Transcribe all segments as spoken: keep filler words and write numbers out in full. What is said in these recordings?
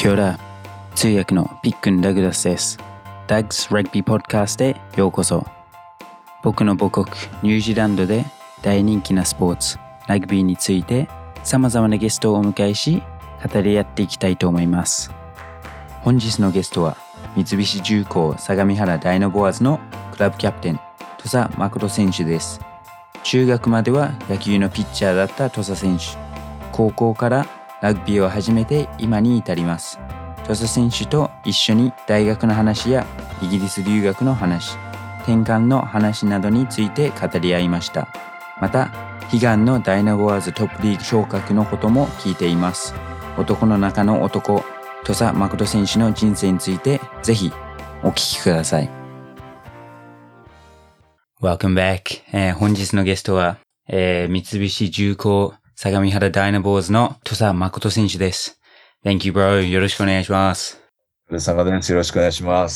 キョラ、通訳のピックン・ダグラスです。ダグス・ラグビー・ポッドキャストへようこそ。僕の母国ニュージーランドで大人気なスポーツラグビーについて様々なゲストをお迎えし語り合っていきたいと思います。本日のゲストは三菱重工相模原ダイナボアーズのクラブキャプテン土佐誠選手です。中学までは野球のピッチャーだった土佐選手、高校からラグビーを始めて今に至ります。土佐選手と一緒に大学の話やイギリス留学の話、転換の話などについて語り合いました。また悲願のダイナボアーズトップリーグ昇格のことも聞いています。男の中の男、土佐誠選手の人生についてぜひお聞きください。Welcome back、えー、本日のゲストは、えー、三菱重工相模原ダイナボーズの土佐誠選手です。Thank you, bro. よろしくお願いします。 土佐誠です。よろしくお願いします。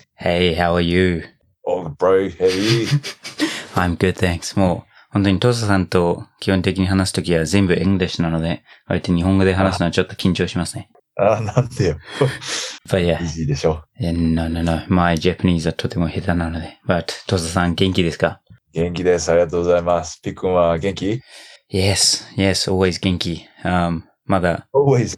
Hey, how are you?Oh, bro, how are you? I'm good, thanks. もう本当に土佐さんと基本的に話すときは全部エングリッシュなので、割と日本語で話すのはちょっと緊張しますね。 ああ、なんでよ。 But yeah. イージーでしょ。 No, no, no. My Japanese はとても下手なので。But 土佐さん元気ですか？ 元気です。ありがとうございます。ピックンは元気？ Yes, yes, always 元気。Um, まだ。 always.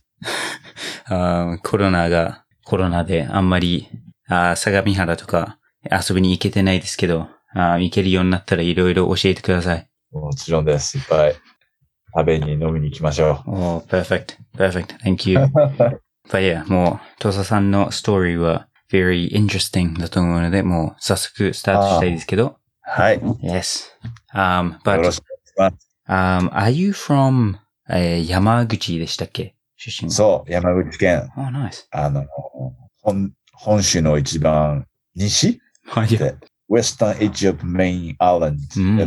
um, コロナが、コロナであんまり、あ相模原とか遊びに行けてないですけど、あ行けるようになったらいろいろ教えてください。 もちろんです。いっぱい食べに飲みに行きましょう。 Oh, perfect, perfect. Thank you. But yeah, もう、土佐さんのストーリーは very interesting だと思うので、もう早速スタートしたいですけど。 はい。 Yes. Um, but, よろしくお願いします。 Um, are you from、えー、山口でしたっけ？出身。 そう、山口県。 Oh, nice. あの、本、本州の一番西で、Western Edge of Main Island、うん。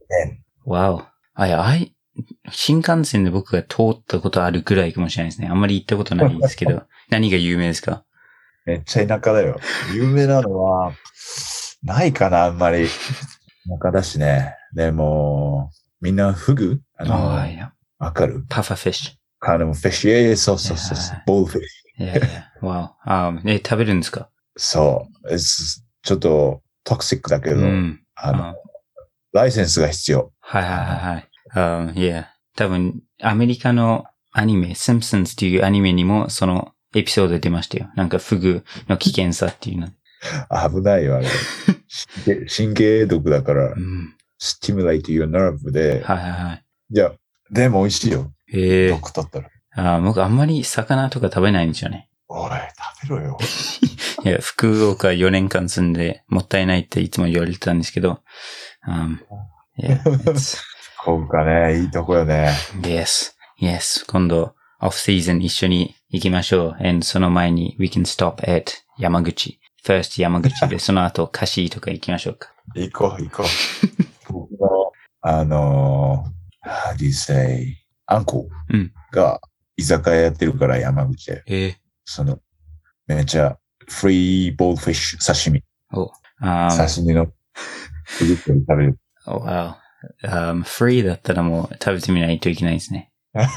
Wow. I, I, 新幹線で僕が通ったことあるぐらいかもしれないですね。あんまり行ったことないですけど。何が有名ですか？ めっちゃ田舎だよ。有名なのは、ないかな、あんまり。田舎だしね。でも、みんなフグあの、わ、oh, かる？ パファフィッシュ。 カーナムフィッシュ。そうそうそうそう。ボールフィッシュ。いやいや。wow. Um, え、食べるんですか？ そう。ちょっとトクシックだけど、うん、あの、ライセンスが必要。 はいはいはい。Um, yeah. 多分、アメリカのアニメ、シンプソンズっていうアニメにもそのエピソード出ましたよ。なんかフグの危険さっていうの。 危ないよ、あれ。神経毒だから、うん、stimulate your nerve で。 はいはいはい。 いや、でも美味しいよ。 へえ。 毒取ったら。 あ僕あんまり魚とか食べないんですよね。 おい、食べろよ。 いや、福岡よねんかん住んでもったいないっていつも言われてたんですけど。Um, yeah, 福岡ね、いいとこよね。 Yes, yes. 今度、オフシーズン一緒に行きましょう。And その前に、we can stop at 山口。First 山口で、その後、カシとか行きましょうか。 行こう、行こう。僕の、あの、how do you say, アンコが居酒屋やってるから山口で。 えー、 その、めっちゃ、フリーボールフィッシュ、刺身。 お、 um, 刺身の、フルーツを食べる。 お、wow. Um, フリーだったらもう食べてみないといけないですね。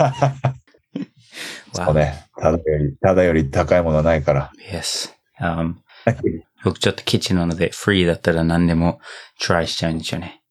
そうね。ただより、ただより高いものはないから。 Yes. Um, 僕ちょっとケチなので、フリーだったら何でもトライしちゃうんでしょうね。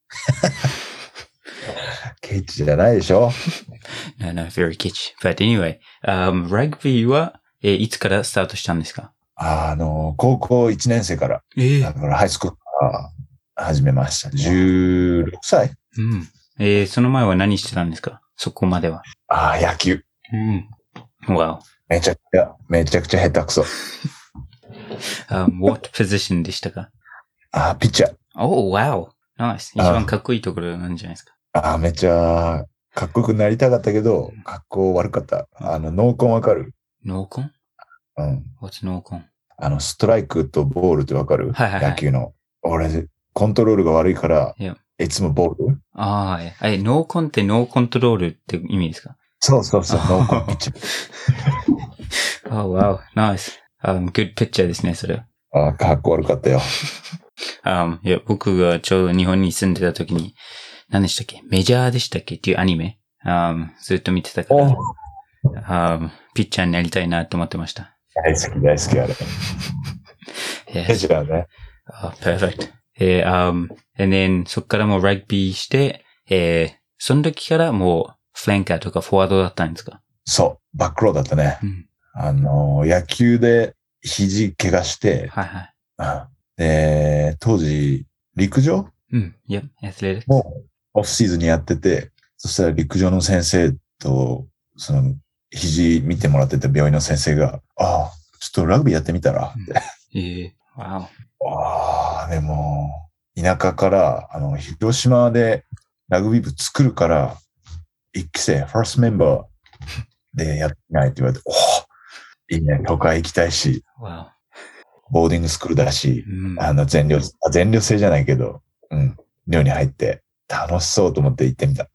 ケチじゃないでしょ ？No, no, very ケチ。But anyway, um, ラグビーは、えー、いつからスタートしたんですか？ あの、高校いちねん生から。えー、だからハイスクールから始めました。じゅうろくさい。 うん。えー、その前は何してたんですか？そこまでは。 ああ、野球。 うん。Wow. めちゃくちゃ、めちゃくちゃ下手くそ。 um, what position でしたか？ ああ、ピッチャー。 Oh, wow. Nice. 一番かっこいいところなんじゃないですか？ ああ、めっちゃ、かっこよくなりたかったけど、かっこ悪かった。あの、ノーコンわかる？ ノーコン？うん。What's ノーコン？ あの、ストライクとボールってわかる？ はいはいはい。 野球の。俺、コントロールが悪いから、 yeah. いつもボール？ ああ、え、ノーコンってノーコントロールって意味ですか？ そうそうそう、ノーコンピッチャー。oh, wow. Nice.Um, good picture ですね、それ。 ああ、かっこ悪かったよ。 um, いや、僕がちょうど日本に住んでた時に、何でしたっけ？メジャーでしたっけっていうアニメ、um, ずっと見てたから。 um, ピッチャーになりたいなって思ってました。 大好き、大好き、あれ。 Yes. じゃあね。 Oh, perfect. えー、um, and then そっからもうラグビーして、えー、その時からもうフランカーとかフォワードだったんですか？ そう、バックローだったね。 うん、 あの、野球で肘怪我して、 はいはい。 うん、で、当時、陸上うん、Yep, athletics. もうオフシーズンにやってて、そしたら陸上の先生と、その、肘見てもらってた病院の先生が、ああ、ちょっとラグビーやってみたらって。 うん、えー、wow. ああ、でも、田舎から、あの、広島でラグビー部作るから、一期生、ファーストメンバーでやってないって言われて、おお、いいね、都会行きたいし、 wow. ボーディングスクールだし、 うん、 あの、全寮、全寮制じゃないけど、うん、寮に入って、楽しそうと思って行ってみた。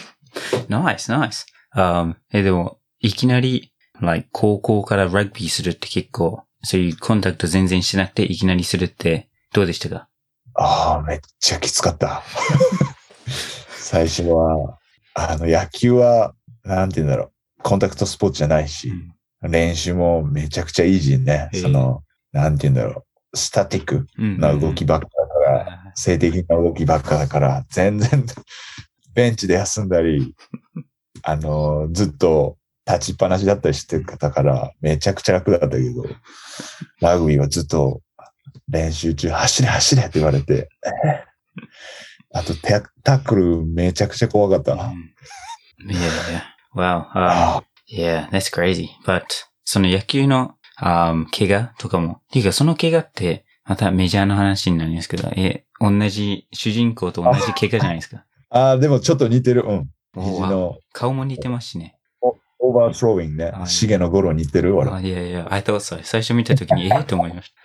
nice, nice. Um, え、でも、いきなり、like 高校からラグビーするって結構、そういうコンタクト全然してなくていきなりするってどうでしたか？ ああ、めっちゃきつかった。最初は、あの、野球は、なんて言うんだろう、コンタクトスポーツじゃないし、うん、練習もめちゃくちゃイージーね。その、なんて言うんだろう、スタティックな動きばっかだから、うんうん、静的な動きばっかだから、全然、ベンチで休んだり、あの、ずっと立ちっぱなしだったりしてたから、めちゃくちゃ楽だったけど、ラグビーはずっと練習中、走れ走れって言われて、あとタックルめちゃくちゃ怖かったな。 Yeah, yeah. Wow. Um, yeah, that's crazy. But, その野球の、um, 怪我とかも、ていうかその怪我って、またメジャーの話になりますけど、え、同じ、主人公と同じ怪我じゃないですか。 ああ、でもちょっと似てる。うん。肘の。 顔も似てますしね。 オーバースローイングね。シゲのゴロ似てる俺。 あ、いやいや、I thought so. 最初見たときに、ええと思いました。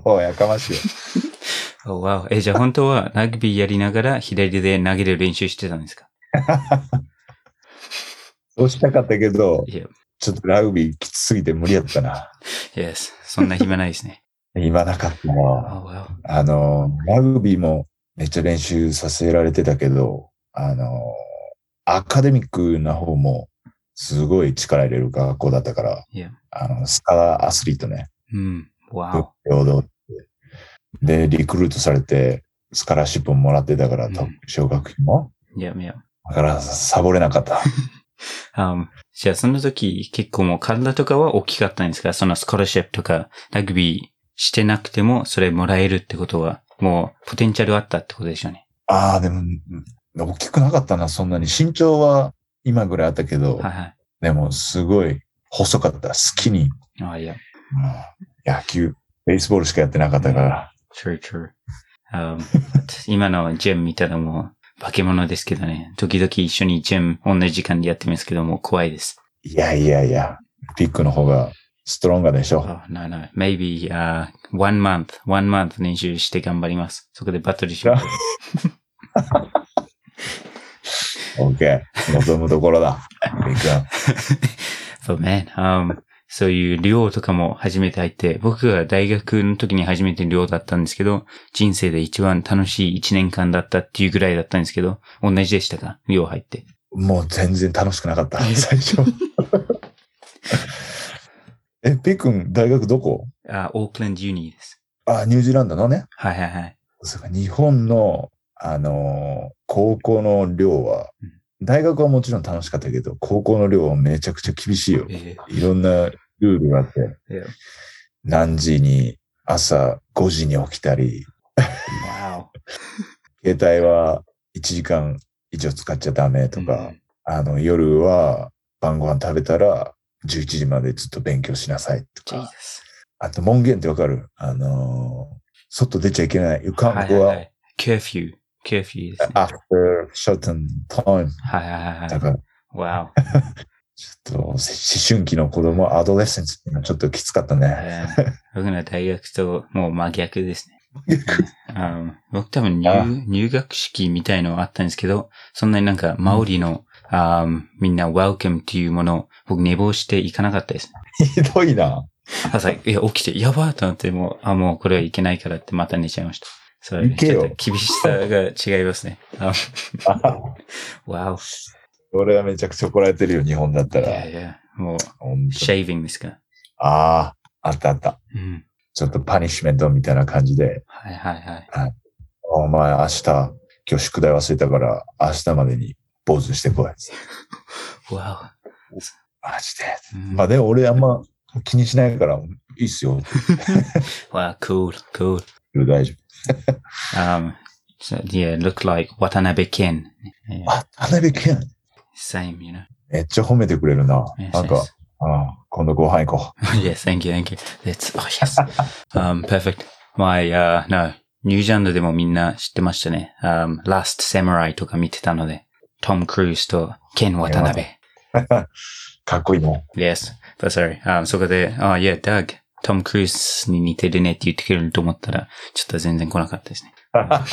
おお、やかましい。 おわお。え、じゃあ本当はラグビーやりながら左で投げる練習してたんですか？ そうしたかったけど、ちょっとラグビーきつすぎて無理やったな。 Yes. そんな暇ないですね。 暇なかったな。Oh, wow. あの、ラグビーもめっちゃ練習させられてたけど、あの、アカデミックな方もすごい力入れる学校だったから、 yeah. あの、スカラアスリートね。 うん。Wow. で、リクルートされて、スカラシップももらってたから、うん、奨学金も。 いやいや。 だから、サボれなかった。 um, じゃあ、その時、結構もう体とかは大きかったんですか？そのスカラシップとか、ラグビーしてなくても、それもらえるってことは、もう、ポテンシャルあったってことでしょうね。 ああ、でも、大きくなかったな、そんなに。身長は今ぐらいあったけど、 はいはい、 でも、すごい細かった。スキニー。ああ、いや。 野球、ベースボールしかやってなかったから。 True, true. Um, 今のジム見たらもう化け物ですけどね。時々一緒にジム同じ時間でやってますけども怖いです。 いやいやいや、ピックの方がストロンガーでしょ。 Oh, no, no. Maybe, uh, one month, one month 練習して頑張ります。そこでバトルします。 OK。望むところだ。ピック。 But man, um, そういう寮とかも初めて入って、僕が大学の時に初めて寮だったんですけど、人生で一番楽しい一年間だったっていうぐらいだったんですけど、同じでしたか？寮入って。 もう全然楽しくなかった、最初。え、ピッ君、大学どこ？ あ、オークランドユニです。 あ、ニュージーランドのね。 はいはいはい。 そうか、日本の、あのー、高校の寮は、うん、大学はもちろん楽しかったけど、高校の寮はめちゃくちゃ厳しいよ。えー、いろんなルールがあって、yeah. 何時に朝ごじに起きたり、wow. 携帯はいちじかん以上使っちゃダメとか、mm-hmm. あの夜は晩ご飯食べたらじゅういちじまでずっと勉強しなさいとか、Jesus. あと門限ってわかる？あのー、外出ちゃいけない。You can't go out. Curfew. Curfew ですね。 After certain time. はいはいはい。 だから。 Wow. ちょっと、思春期の子供、アドレッセンスっていうのはちょっときつかったね。 僕の大学ともう真逆ですね。um, 僕多分 入, 入学式みたいのあったんですけど、そんなになんかマオリの、うん um, みんな welcome っていうものを僕寝坊して行かなかったですね。 ひどいな。 朝、いや、起きて、やばーと思って、もう、あ、もうこれはいけないからってまた寝ちゃいました。それちょっと厳しさが違いますね。わお。 俺はめちゃくちゃ怒られてるよ、日本だったら。 いやいや。 もう、 ほんとシェービングですか。 ああ、あったあった。 うん。 ちょっとパニッシュメントみたいな感じで、 はいはいはい。 はい、お前明日、今日宿題忘れたから明日までに坊主してこい。 わマジで。 お。うん、 まあでも俺あんま気にしないからいいっすよ。 わあ、cool, cool. 大丈夫。 um, so, yeah, look like Watanabe Ken. Yeah, あ、田辺健。 same, you know. めっちゃ褒めてくれるな。 Yes, なんか、 yes. ああ今度ご飯行こ yes, thank you, thank you. That's, oh yes. Um, perfect. My, uh, no. ニュージーランドでもみんな知ってましたね。Um, Last Samurai とか見てたので、トム・クルーズとケン・渡辺。 う。かっこいいね。 Yes, but sorry. Um, そこで、あ、いや、ダグ、トム・クルーズに似てるねって言ってくれると思ったら、ちょっと全然来なかったですね。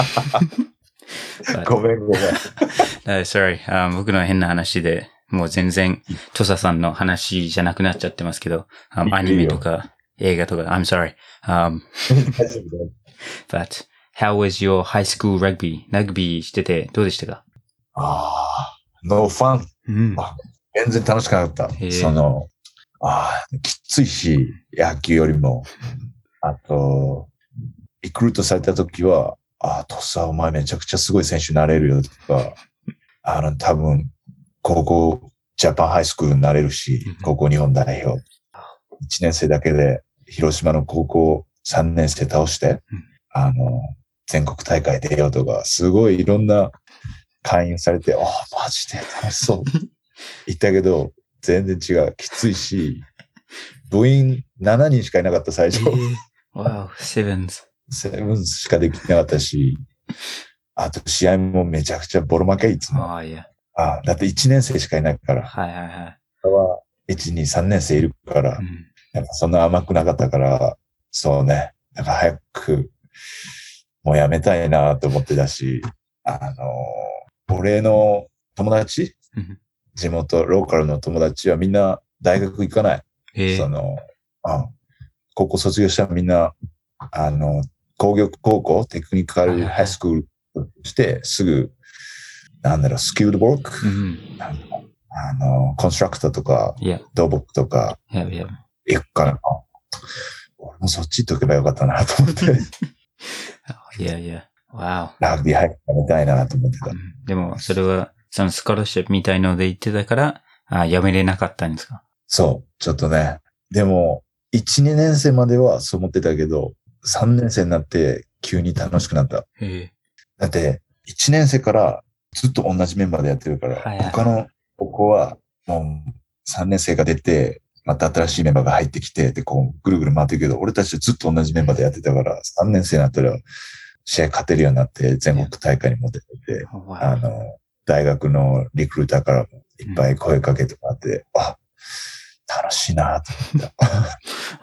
ごめんごめん。 uh, sorry. Um, 僕の変な話で、もう全然、トサさんの話じゃなくなっちゃってますけど、um, アニメとか映画とか、I'm sorry. Um, 大丈夫だよ。 but how was your high school rugby? ラグビーしててどうでしたか？ ああ、ノーファン。 うん。 全然楽しくなかった。その、ああ、きついし、野球よりも。あと、リクルートされた時は、ああ、トッサーお前めちゃくちゃすごい選手になれるよとか、あの、多分、高校、ジャパンハイスクールになれるし、高校日本代表。いちねん生だけで、広島の高校さんねん生倒して、あの、全国大会出ようとか、すごいいろんな勧誘されて、ああ、マジで楽しそう。言ったけど、全然違う。きついし、部員しちにんしかいなかった最初。 Wow, sevens. セブンしかできなかったし、あと試合もめちゃくちゃボロ負けいつも。 ああ、いや。 あだっていちねん生しかいないから。 はいはいはい。 いち、に、さんねん生いるから、 うん、 やっぱそんな甘くなかったから、そうね。なんか早く、もうやめたいなと思ってたし、あの、俺の友達、地元、ローカルの友達はみんな大学行かない。 えー、 その、あ高校卒業したらみんな、あの、工業高校、テクニカルハイスクールして、すぐ、なんだろう、スキルドワーク、うん、あの、コンストラクターとか、 yeah. 土木とか、 yeah, yeah. 行くから、俺もそっち行っとけばよかったなと思って。 いやいや、wow. ラグビー入ってみたいなと思ってた。 うん、でも、それは、そのスコラシップみたいので言ってたから、あやめれなかったんですか？ そう、ちょっとね。でも、いち、にねん生まではそう思ってたけど、さんねん生になって急に楽しくなった。 へだって、いちねん生からずっと同じメンバーでやってるから、はいはい、他の高校はもうさんねん生が出て、また新しいメンバーが入ってきて、で、こう、ぐるぐる回ってるけど、俺たちずっと同じメンバーでやってたから、さんねん生になったら試合勝てるようになって、全国大会にも出てて、あの、大学のリクルーターからもいっぱい声かけてもらって、うん、あ、楽しいなと思った。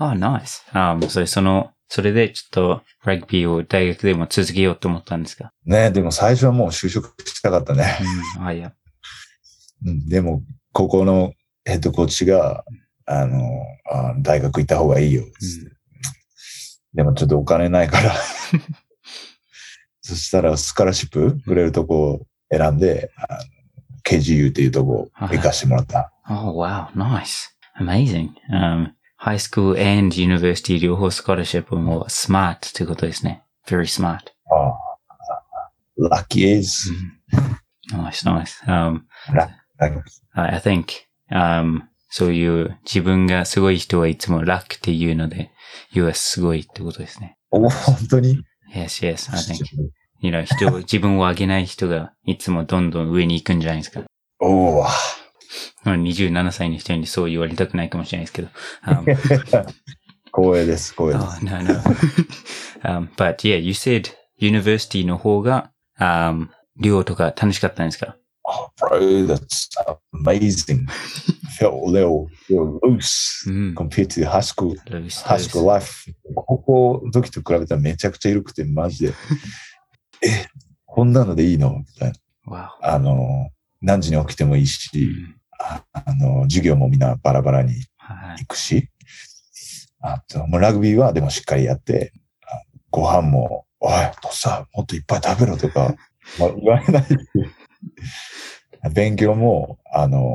あ、ナイス。あ、それ、その、それでちょっとラグビーを大学でも続けようと思ったんですか？ ね、でも最初はもう就職したかったね。 うん、あ、いや。 うん、でも、高校のヘッドコーチが、あの、あ大学行った方がいいよ、うん。でもちょっとお金ないから。そしたらスカラシップくれるとこを選んで、あの ケージーユー っていうとこ行かしてもらった。 Oh, wow, nice. Amazing. Um, high school and university 両方スカラシップもスマートということですね。Very smart. ああ、lucky is. Nice, nice. Um, I think, um, そういう自分がすごい人はいつもラックっていうので、You are すごいってことですね。 お、本当に？ Yes, yes, I think. You know, 人、自分を上げない人がいつもどんどん上に行くんじゃないですか。 おー。 にじゅうななさいの人にそう言われたくないかもしれないですけど。Um, 光栄です、光栄です。 Oh, no, no. um, but yeah, you said university の方が、um, 寮とか楽しかったんですか？ Oh, bro, that's amazing. Felt a little, little loose、mm. compared to high school, loose, high school loose. life. 高校の時と比べたらめちゃくちゃ緩くて、マジで。え、こんなのでいいのみたいな。 Wow. あの、何時に起きてもいいし、mm. あ, あの、授業もみんなバラバラに行くし、あと、もうラグビーはでもしっかりやって、ご飯も、おい、とさ、もっといっぱい食べろとか、まあ、言われない。勉強も、あの、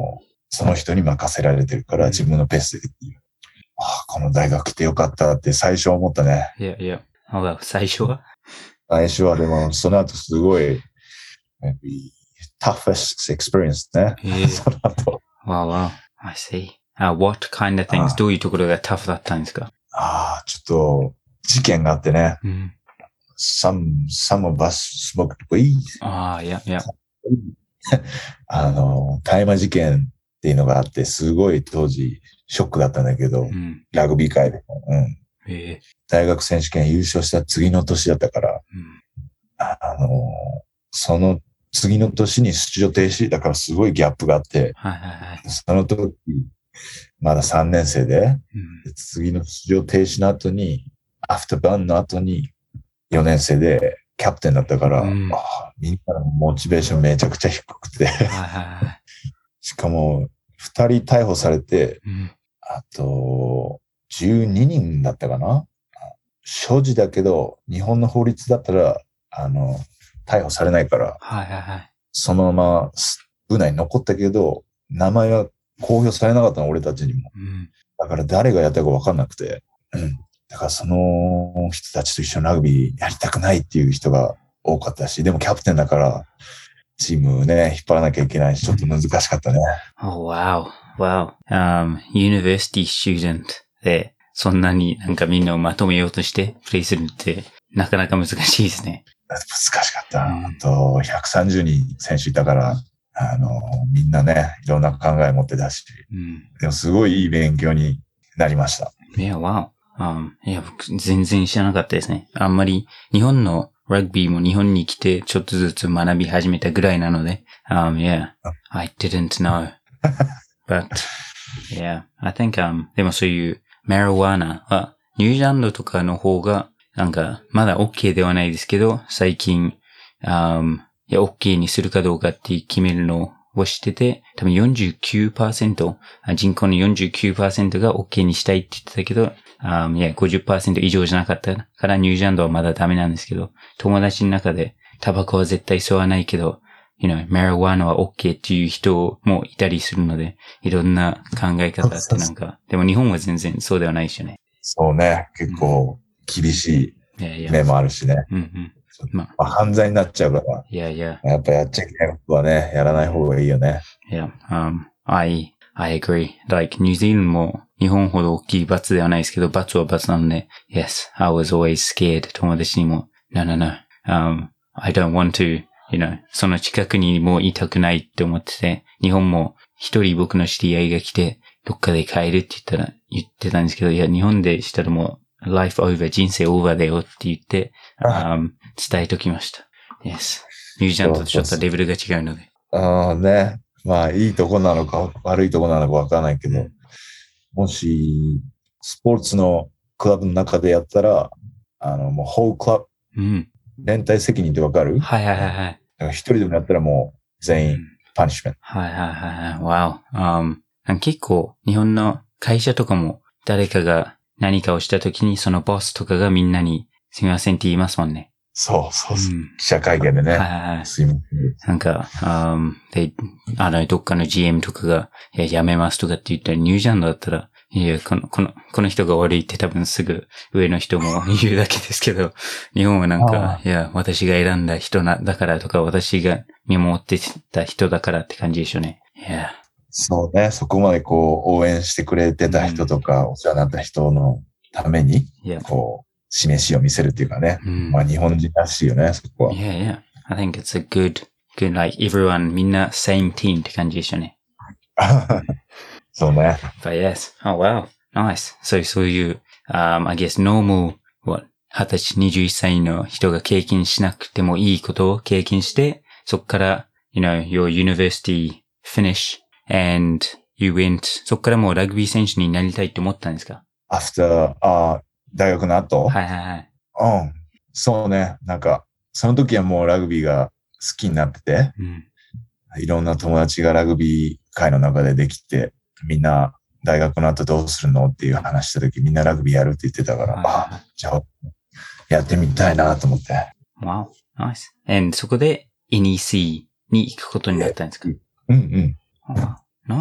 その人に任せられてるから自分のペースでできる。ああ、この大学来てよかったって最初は思ったね。 いやいや。あ、最初は最初はでも、その後すごい、toughest experience ね。 ええその後。 Wow, wow. I see. Uh, what kind of things? どういうところがタフだったんですか？ ああ、ちょっと、事件があってね。 うん。 some, some of us smoked weed. ああ、いやいや。 あの、大麻事件っていうのがあって、すごい当時、ショックだったんだけど、 うん、 ラグビー界で。うん。 ええ大学選手権優勝した次の年だったから、 うん、 あの、その次の年に出場停止だからすごいギャップがあって、 はいはいはい。 その時、まださんねん生で、 うん、 次の出場停止の後に、アフターバンの後によねん生でキャプテンだったから、 うん、 あみんなのモチベーションめちゃくちゃ低くて、 はいはいはい。 しかもふたり逮捕されて、 うん、 あとじゅうににんだったかな。所持だけど、日本の法律だったら、あの、逮捕されないから、 はいはいはい。 そのまま部内に残ったけど、名前は公表されなかったの、俺たちにも。 うん、 だから誰がやったか分かんなくて。うん。だからその人たちと一緒にラグビーやりたくないっていう人が多かったし、でもキャプテンだから、チームね、引っ張らなきゃいけないし、ちょっと難しかったね。 Oh, wow. Wow. Um, university student で、そんなになんかみんなをまとめようとしてプレイするって、なかなか難しいですね。 難しかった。 うんあと、ひゃくさんじゅうにん選手いたから、あの、みんなね、いろんな考え持ってたし、 うん。 でもすごいいい勉強になりました。 いや、wow. Um, いや、僕全然知らなかったですね。あんまり日本のラグビーも日本に来てちょっとずつ学び始めたぐらいなので、um, yeah, I didn't know. But, yeah, I think, um, でもそういうマリワナはニュージーランドとかの方がなんかまだ OK ではないですけど、最近、um, いや OK にするかどうかって決めるのをしてて、多分 よんじゅうきゅうパーセント、人口の よんじゅうきゅうパーセント が OK にしたいって言ってたけど、Um, いや、ごじゅっパーセント 以上じゃなかったからニュージーランドはまだダメなんですけど、友達の中でタバコは絶対吸わないけど、you know, マリワナは OK っていう人もいたりするので、いろんな考え方ってなんか、でも日本は全然そうではないですよね。 そうね、結構厳しい面もあるしね。 うんうん。 まあ、犯罪になっちゃうから、 いやいや。 やっぱやっちゃいけないことはね、やらない方がいいよね。 いや、um, I, I agree. Like, ニュージーランドも日本ほど大きい罰ではないですけど、罰は罰なので、Yes, I was always scared. 友達にも、No, no, no. Um, I don't want to, you know, その近くにもういたくないって思ってて、日本も一人僕の知り合いが来て、どっかで帰るって言ったら、言ってたんですけど、いや、日本でしたらもう、life over, 人生 over だよって言って、um, 伝えときました。Yes. ニュージーランドとちょっとレベルが違うので。 ああね。まあ、いいとこなのか悪いとこなのかわからないけど、うん、もし、スポーツのクラブの中でやったら、あの、もう、ホールクラブ、うん、連帯責任ってわかる？ はいはいはいはい。 だから一人でもやったらもう、全員、パニッシュメント。 はいはいはいはい。わお。Um, 結構、日本の会社とかも、誰かが何かをしたときに、そのボスとかがみんなに、すみませんって言いますもんね。 そうそうそう、うん。記者会見でね。 はいはいはい。 すいません。 なんか、um, で、あの、どっかの ジーエム とかが、いや、やめますとかって言ったら、ニュージーランドだったら、いや、この、この、この人が悪いって多分すぐ上の人も言うだけですけど、日本はなんか、いや、私が選んだ人な、だからとか、私が見守ってた人だからって感じでしょうね。いや。 そうね、そこまでこう、応援してくれてた人とか、うん、お世話になった人のために、こう、示しを見せるっていうかね。うん、まあ日本人らしいよね、そこは。 Yeah, yeah. I think it's a good, good, like everyone, みんな same team って感じでしたね。 そうね。 But yes. Oh wow. Nice. So, そういう、um, I guess normal, what, はたち、にじゅういっさいの人が経験しなくてもいいことを経験して、そこから、you know, your university finish and you went, そこからもうラグビー選手になりたいって思ったんですか？ After, あ大学の後？ はいはいはい。 うん。そうね。なんか、その時はもうラグビーが好きになってて、うん、いろんな友達がラグビー界の中でできて、みんな大学の後どうするのっていう話した時、みんなラグビーやるって言ってたから、はい、あ、じゃあ、やってみたいなと思って。 Wow, nice. And そこで エヌイーシー に行くことになったんですか？ うんうん。 Oh, nice.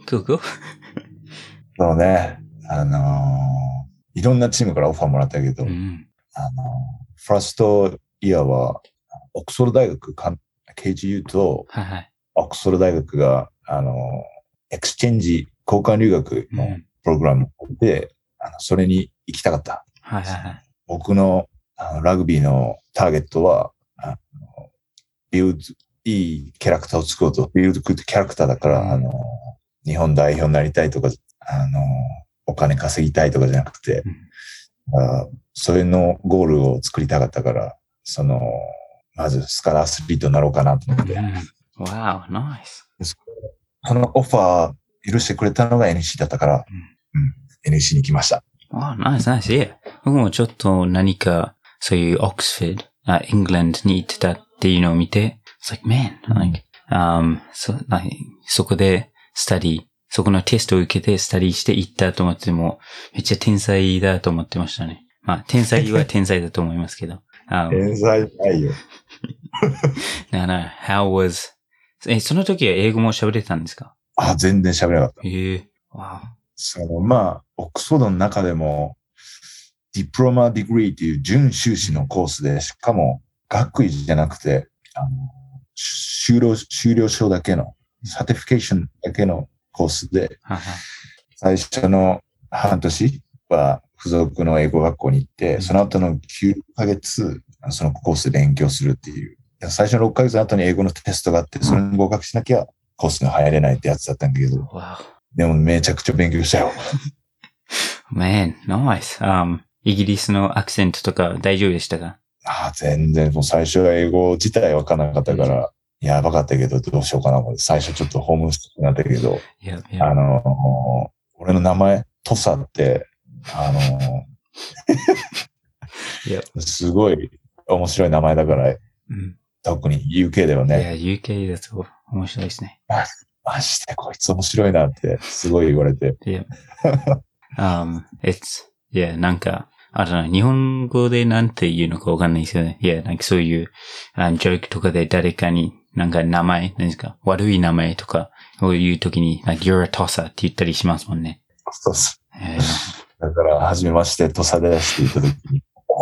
Cool, cool. そうね。あのー、いろんなチームからオファーもらったけど、 うん、 あのー、ファーストイヤーは、オックスフォード大学、ケージーユー と、 はいはい。 オックスフォード大学が、あのー、エクスチェンジ、交換留学のプログラムで、うん、あのそれに行きたかった。 はいはいはい。 僕の、あのラグビーのターゲットは、あのビルド、いいキャラクターを作ろうと、ビルドクッドキャラクターだから、うん、あの、日本代表になりたいとか、あの、お金稼ぎたいとかじゃなくて、うん、あそれのゴールを作りたかったから、その、まずスカラーアスリートになろうかなと思って。 わお、ナイス。 そのオファー許してくれたのが エヌシー だったから、うんうん、エヌシー に来ました。 わあ、ナイスナイス。いや、僕もちょっと何か、そういうオックスフォード、あ、イングランドに行ってたっていうのを見て、it's like, man, like, um, そ, like, そこでスタディ、そこのテストを受けてスタディして行ったと思っても、めっちゃ天才だと思ってましたね。まあ、天才は天才だと思いますけど。 um, 天才ないよ。 だから、how was, え、その時は英語も喋れたんですか？ あ、全然喋れなかった。 へえ、わあ。 その、まあ、オックスフォードの中でも、ディプロマディグリーという準修士のコースで、しかも学位じゃなくて、あの、修了、修了証だけの、サティフィケーションだけのコースで、最初の半年は付属の英語学校に行って、その後のきゅうかげつ、そのコースで勉強するっていう。最初のろっかげつの後に英語のテストがあって、それに合格しなきゃコースに入れないってやつだったんだけど、でもめちゃくちゃ勉強したよ。 Man, nice.、Um, イギリスのアクセントとか大丈夫でしたか？ ああ、全然、もう最初は英語自体わからなかったから、うん、やばかったけど、どうしようかな。最初ちょっとホームステイになったけど、 yeah, yeah. あの、俺の名前、トサって、あの、 yep. すごい面白い名前だから、うん、特に ユーケー ではね。 いや、ユーケー だと面白いですね。 マジでこいつ面白いなってすごい言われて。 yeah. um, it's, yeah, なんか、あの、日本語でなんて言うのかわかんないですよね。いや、なんかそういう、あの、ジョークとかで誰かになんか名前、何ですか、悪い名前とかを言うときに、like, you're a tosser って言ったりしますもんね。 そうっす。えー、だから、はじめまして、トサですって言ったときに、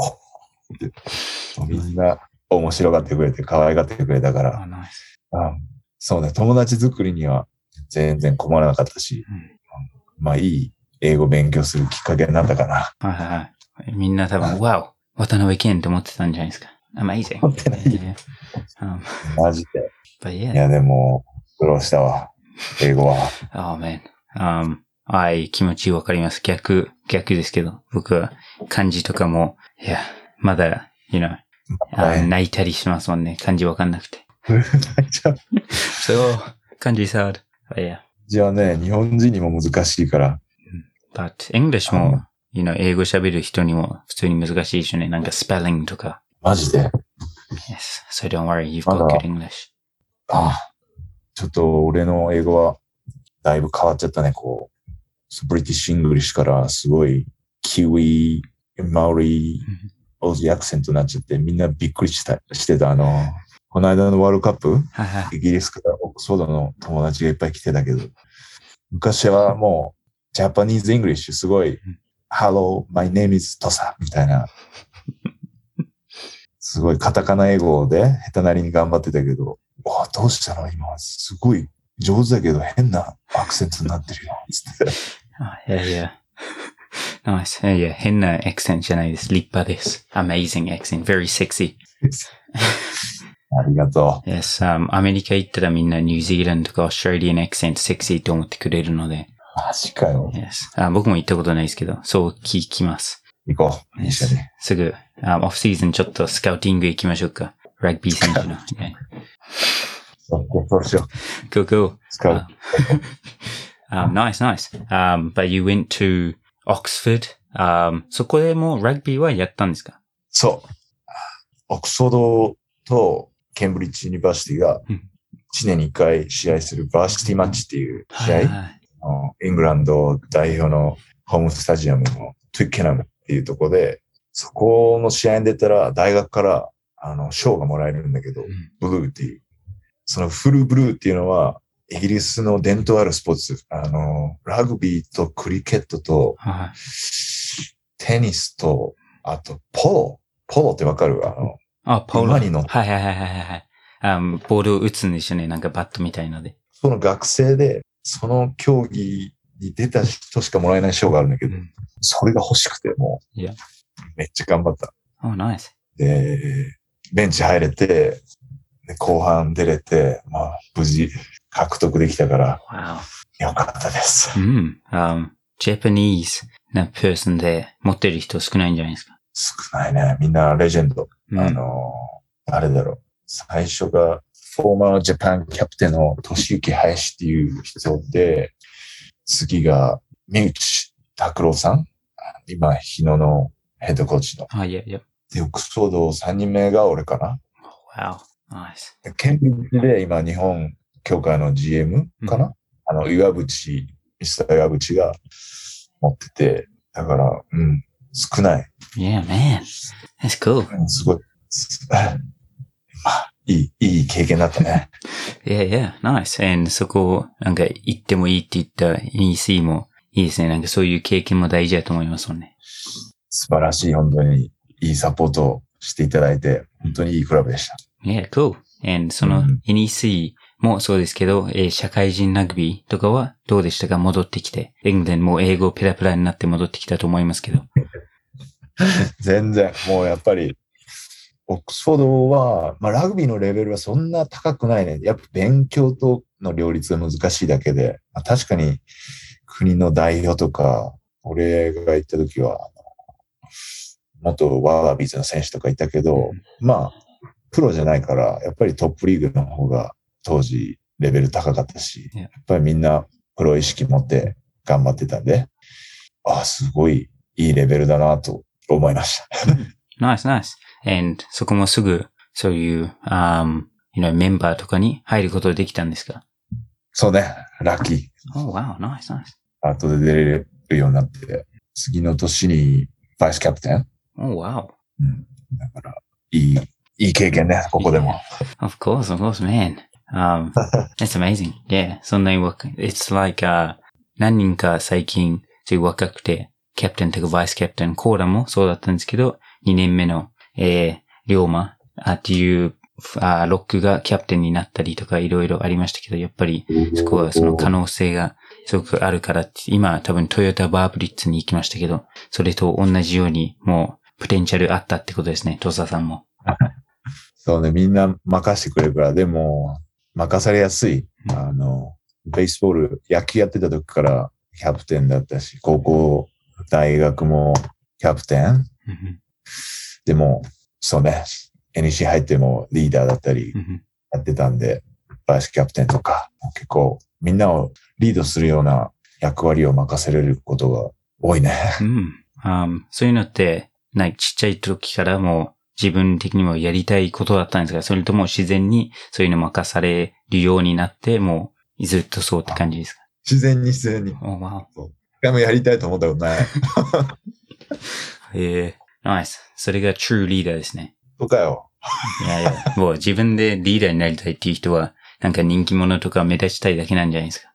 おみんな面白がってくれて、可愛がってくれたから、 oh, nice. あそうね、友達作りには全然困らなかったし、うん、まあいい英語勉強するきっかけになったかな。 はいはいはい。みんな多分、wow! 渡辺謙って思ってたんじゃないですか。Amazing. 思ってない。Yeah. Um, マジで。 Yeah. いや、でも、苦労したわ。英語は。 Oh man. Um, はい、気持ちわかります。逆、逆ですけど。僕は漢字とかも、いや、まだ、you know, 泣いたりしますもんね。漢字わかんなくて。 泣いちゃう。 そう、漢字 is hard. Yeah. じゃあね、日本人にも難しいから。 But English も、you know, 英語喋る人にも普通に難しいしね。なんかスペリングとか。 マジで Yes. So don't worry, you've got good English. ああ。ちょっと俺の英語はだいぶ変わっちゃったね、こう。ブリティッシュ・イングリッシュからすごいキウイ、マウリ、オージーアクセントになっちゃってみんなびっくりした、してた。あの、この間のワールドカップ、イギリスからオックスフォードの友達がいっぱい来てたけど、昔はもうジャパニーズ・イングリッシュすごい、Hello, my name is Tosa みたいな。すごいカタカナ英語で下手なりに頑張ってたけど、わあ、どうしたの今、すごい上手だけど変なアクセントになってるよ。つって。 あ、いやいや。ナイス。いや、変なアクセントじゃないです。立派です。Amazing accent. Very sexy. ありがとう。 Yes, um, アメリカ行ったらみんなニュージーランドとかオーストラリアンアクセントセクシーと思ってくれるので。 マジかよ。 Yes. あ、僕も行ったことないですけど、そう聞きます。 行こう。一緒に。 すぐ、um, オフシーズンちょっとスカウティング行きましょうか。ラグビー選手の。Yeah. そうしよう。Go, go. スカウト。 um, nice, nice. Um, but you went to Oxford. Um, そこでもラグビーはやったんですか？ そう。オックスフォードとケンブリッジユニバーシティがいちねんにいっかい試合するバーシティマッチっていう試合、はいはい、イングランド代表のホームスタジアムのトゥイッケナムっていうところで、そこの試合に出たら大学からあの賞がもらえるんだけど、うん、ブルーっていう。そのフルブルーっていうのはイギリスの伝統あるスポーツ、あの、ラグビーとクリケットと、 はい。 テニスと、あと、ポロ。ポロってわかる？あの、 あ、ポロ。 馬に乗って。 はいはいはいはいはい。あ、ボールを打つんですよね。なんかバットみたいので。 その学生で、その競技に出た人しかもらえない賞があるんだけど、 うん、 それが欲しくて、もう、 いや。 めっちゃ頑張った。 Oh, nice. で、ベンチ入れて、で後半出れて、まあ、無事獲得できたから、 Wow. よかったです。 うん。Um, Japanese な person で持ってる人少ないんじゃないですか。 少ないね。みんなレジェンド。 うん、 あの、あれだろう。最初が、フォーマージャパンキャプテンの俊之林っていう人で、次が、三内拓郎さん。今、日野のヘッドコーチの。 あ、いやいや。 で、オックスフォードさんにんめが俺かな。 Wow. Nice. ケンブリッジで今、日本協会の ジーエム かな、うん、あの、岩渕、ミスター岩渕が持ってて、だから、うん、少ない。 Yeah, man. That's cool. うん、すごい。まあ、いい、いい経験だったね。 Yeah, yeah, nice. And そこ、なんか行ってもいいって言った エヌイーシー もいいですね。なんかそういう経験も大事だと思いますもんね。 素晴らしい、本当にいいサポートをしていただいて、本当にいいクラブでした。 Yeah, cool. And その エヌイーシー もそうですけど、うん、えー、社会人ラグビーとかはどうでしたか？戻ってきて。エングランドも英語ペラペラになって戻ってきたと思いますけど。 全然、もうやっぱり、オックスフォードは、まあラグビーのレベルはそんな高くないね。やっぱ勉強との両立が難しいだけで、まあ、確かに国の代表とか、俺が行った時は、元ワービーズの選手とかいたけど、うん、まあ、プロじゃないから、やっぱりトップリーグの方が当時レベル高かったし、やっぱりみんなプロ意識持って頑張ってたんで、ああ、すごいいいレベルだなと思いました。 ナイスナイス。And そこもすぐそういう、um, you know, メンバーとかに入ることができたんですか？ そうね、ラッキー。 Oh, wow, nice, nice. 後で出れるようになって、次の年にバイスキャプテン。 Oh, wow. うん。だから、いい、いい経験ね、ここでも。 Yeah. Of course, of course, man. Um, that's amazing. Yeah, そんなに若い。It's like, uh, 何人か最近、そういう若くて、キャプテンとかバイスキャプテン、コーラもそうだったんですけど、にねんめの、えー、龍馬っていうあロックがキャプテンになったりとかいろいろありましたけど、やっぱりそこはその可能性がすごくあるからって、今多分トヨタバーブリッツに行きましたけど、それと同じようにもうポテンシャルあったってことですね、トサさんも。 そうね、みんな任せてくれるから、でも任されやすい。あの、ベースボール、野球やってた時からキャプテンだったし、高校、大学もキャプテン。でも、そうね、エヌイーシー 入ってもリーダーだったりやってたんで、バイスキャプテンとか、結構みんなをリードするような役割を任せれることが多いね。 うん。um, そういうのって、なんかちっちゃい時からも自分的にもやりたいことだったんですが、それとも自然にそういうの任されるようになって、もうずっとそうって感じですか？ 自然に自然に。 おー、わお。一回もやりたいと思ったことない。 へえ、ナイス。それが true リーダーですね。 そうかよ。 いやいや、もう自分でリーダーになりたいっていう人は、なんか人気者とか目立ちたいだけなんじゃないですか。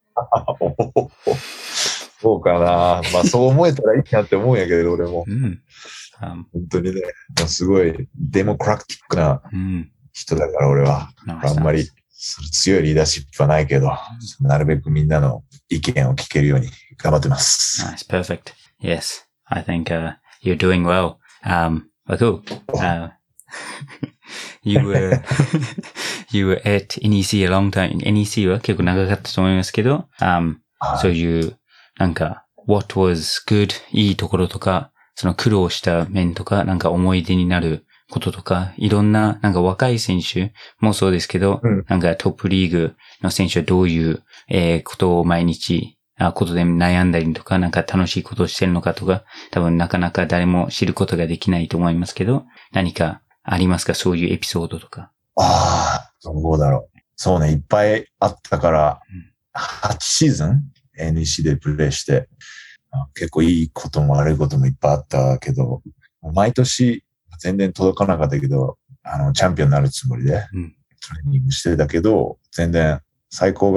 そうかな。まあそう思えたらいいなって思うんやけど、俺も。 うん。 本当にね、すごいデモクラティックな人だから俺は。うん、あんまり強いリーダーシップはないけど、なるべくみんなの意見を聞けるように頑張ってます。 Nice, perfect. Yes, I think、uh, you're doing well. Um, but cool. Uh, you were, you were at エヌイーシー a long time. エヌイーシー は結構長かったと思いますけど、um, そういう、なんか、what was good, いいところとか、その苦労した面とか、なんか思い出になることとか、いろんな、なんか若い選手もそうですけど、うん、なんかトップリーグの選手はどういう、えー、ことを毎日、あ、ことで悩んだりとか、なんか楽しいことをしてるのかとか、多分なかなか誰も知ることができないと思いますけど、何かありますか？そういうエピソードとか。 ああ、どうだろう。そうね、いっぱいあったから、うん、はちシーズン エヌイーシー でプレイして、結構いいことも悪いこともいっぱいあったけど、毎年全然届かなかったけど、あの、チャンピオンになるつもりで、トレーニングしてたけど、全然最高が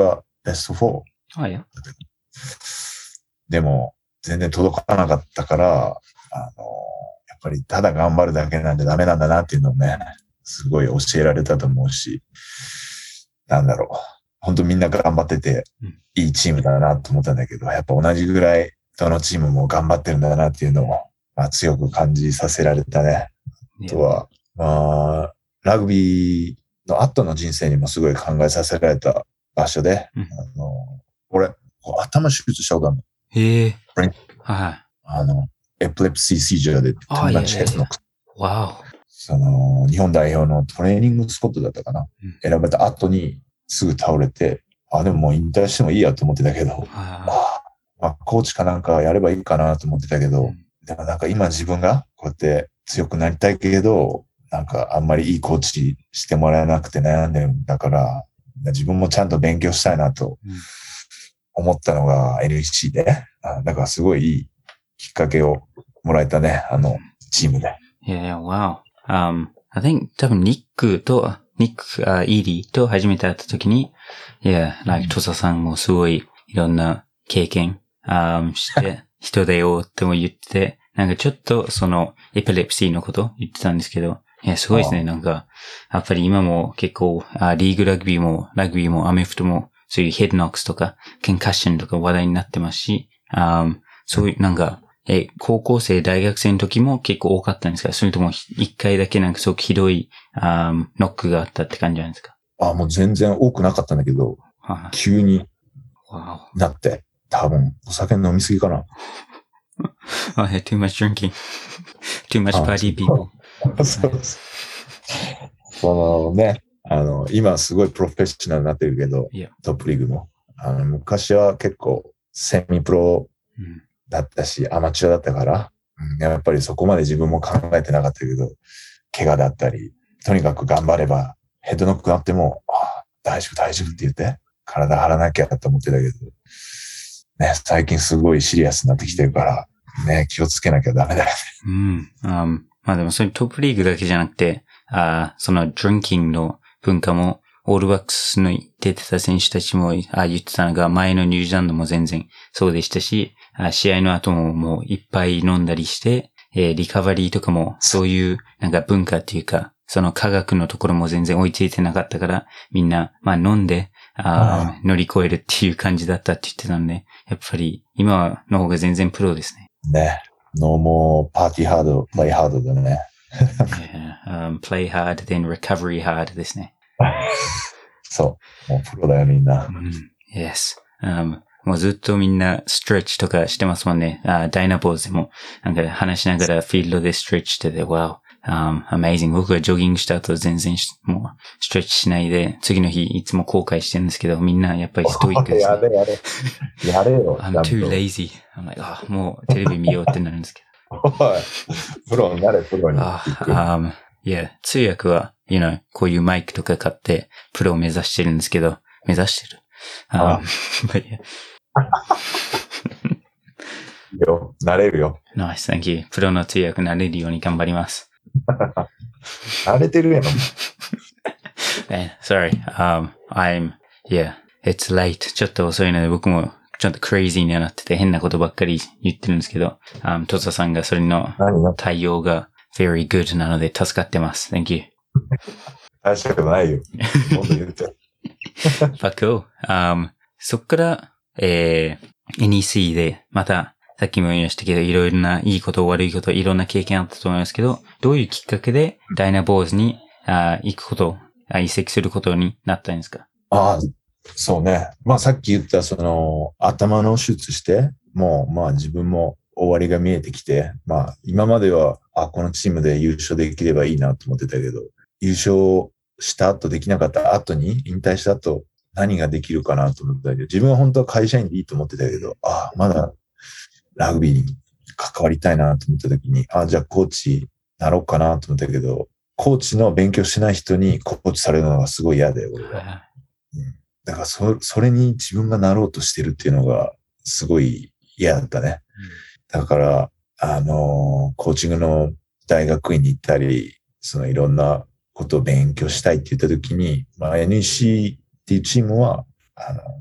ベストフォー。 あ、いや。 でも、全然届かなかったから、あの、やっぱりただ頑張るだけなんじゃダメなんだなっていうのをね、すごい教えられたと思うし、なんだろう。本当みんな頑張ってて、いいチームだなと思ったんだけど、やっぱ同じぐらい、どのチームも頑張ってるんだなっていうのを、まあ、強く感じさせられたね。あとは、まあ、ラグビーの後の人生にもすごい考えさせられた場所で、 うん、 あの俺、頭手術したことあるの。 へえ。はい。 あの、エピレプシーシージャーで友達ヘッドノックス。 わお。 その、日本代表のトレーニングスポットだったかな。うん、選ばれた後にすぐ倒れて、あ、でももう引退してもいいやと思ってたけど、あまあ、コーチかなんかやればいいかなと思ってたけど、うん、でもなんか今自分がこうやって強くなりたいけど、なんかあんまりいいコーチしてもらえなくて悩んでるんだから、自分もちゃんと勉強したいなと思ったのが エヌエイチシー で、だからすごいいいきっかけをもらえたね、あのチームで。 Yeah, wow. Um, I think 多分ニックと、ニック、uh, イーリーと初めて会った時に、yeah, like トサさんもすごいいろんな経験、um, して人だよっても言ってて、なんかちょっとそのエピレプシーのこと言ってたんですけど、いや、すごいですね。なんか、やっぱり今も結構、あリーグラグビーも、ラグビーもアメフトも、そういうヘッドノックスとか、ケンカッションとか話題になってますし、あそういう、なんか、え、高校生、大学生の時も結構多かったんですか？それとも一回だけなんかすごくひどい、あノックがあったって感じなんですか？ あ、もう全然多くなかったんだけど、急になって、多分、お酒飲みすぎかな。 oh, yeah, too much drinking. Too much party people. そうそう。そのね、あの、今すごいプロフェッショナルになってるけど、yeah. トップリーグも。あの、昔は結構セミプロだったし、うん、アマチュアだったから、うん、やっぱりそこまで自分も考えてなかったけど、怪我だったり、とにかく頑張れば、ヘッドノックがあっても、あ大丈夫大丈夫って言って、体張らなきゃと思ってたけど、ね、最近すごいシリアスになってきてるから、ね、気をつけなきゃダメだよね。 うん。Um, まあでもそういうトップリーグだけじゃなくて、あそのドリンキングの文化も、オールバックスの出てた選手たちもあ言ってたのが、前のニュージーランドも全然そうでしたし、あ試合の後ももういっぱい飲んだりして、えー、リカバリーとかもそういうなんか文化っていうか、その科学のところも全然追いついてなかったから、みんな、まあ飲んで、あ乗り越えるっていう感じだったって言ってたんで、やっぱり今の方が全然プロですね。 ね。ノーモーパーティーハード、プレイハードだね。 yeah, um, play hard, then recovery hard ですね。 そう。もうプロだよ、みんな。 うん、yes. Um, もうずっとみんなストレッチとかしてますもんね。あダイナボーズでも、なんか話しながらフィールドでストレッチしてて、wow, um, amazing. 僕がジョギングした後全然もうストレッチしないで、次の日いつも後悔してるんですけど、みんなやっぱりストイックですね。 やれやれ。やれよ。 I'm too lazy. I'm like, あ、もうテレビ見ようってなるんですけど。 おい、プロになれ、プロに。 あ、um, yeah, 通訳は、you know, こういうマイクとか買って、プロを目指してるんですけど、目指してる。Um, but yeah. よ、なれるよ。 Nice, thank you. プロの通訳なれるように頑張ります。 慣れてるやん。 Sorry, um, I'm, yeah, it's late. ちょっと遅いので僕もちょっとクレイジーにはなってて変なことばっかり言ってるんですけど、um, トサさんがそれの対応が very good なので助かってます。Thank you. 大したことないよ。もっと言って。 But cool. Um, そっから、えー、エヌイーシー でまた、さっきも言いましたけど、いろいろないいこと、悪いこと、いろんな経験あったと思いますけど、どういうきっかけでダイナボーズにあ行くこと、あ移籍することになったんですか？ ああ、そうね。まあさっき言ったその頭の手術して、もうまあ自分も終わりが見えてきて、まあ今までは、あ、このチームで優勝できればいいなと思ってたけど、優勝した後できなかった後に、引退した後何ができるかなと思ってたけど、自分は本当は会社員でいいと思ってたけど、あ、まだラグビーに関わりたいなと思った時に、あ、じゃあコーチなろうかなと思ったけど、コーチの勉強しない人にコーチされるのがすごい嫌で、俺は。うん、だからそ、それに自分がなろうとしてるっていうのがすごい嫌だったね。うん、だから、あの、コーチングの大学院に行ったり、そのいろんなことを勉強したいって言った時に、まあ、エヌイーシー っていうチームは、あの、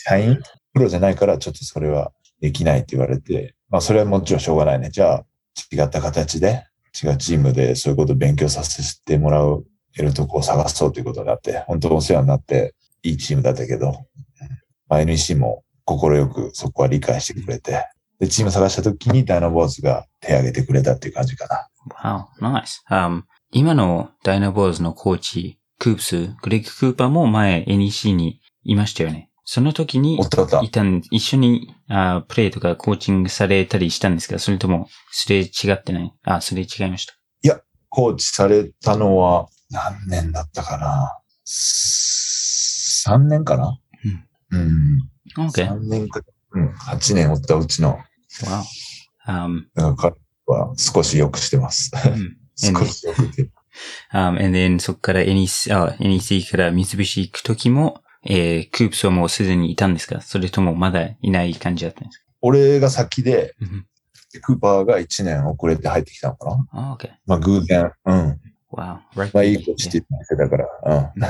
社員プロじゃないからちょっとそれはできないって言われて、まあそれはもちろんしょうがないね。じゃあ違った形で違うチームでそういうことを勉強させてもらう得るとこを探そうということになって、本当お世話になっていいチームだったけど、まあ、エヌイーシー も心よくそこは理解してくれて、で、チーム探した時にダイナボーズが手を挙げてくれたっていう感じかな。Wow, nice. Um, 今のダイナボーズのコーチ、クープス、グレッグ・クーパーも前 エヌイーシー にいましたよね。その時にいたん、一緒にあプレイとかコーチングされたりしたんですか？それともすれ違ってない？あ、すれ違いました。 いや、コーチされたのは何年だったかな？ さん 年かな？うん。うん。 Okay. さんねんか、うん。はちねんおったうちの。 Wow. Um, だから彼は少し良くしてます。少し良くして。 um, and then そこから エヌイーシー、あ、エヌイーシー から三菱行くときも、えー、クープスはもうすでにいたんですか？それともまだいない感じだったんですか？ 俺が先で、クーパーがいちねん遅れて入ってきたのかな？ あ、OK。 まあ偶然。うん。 Wow. まあいいコーチって言ってたから。うん。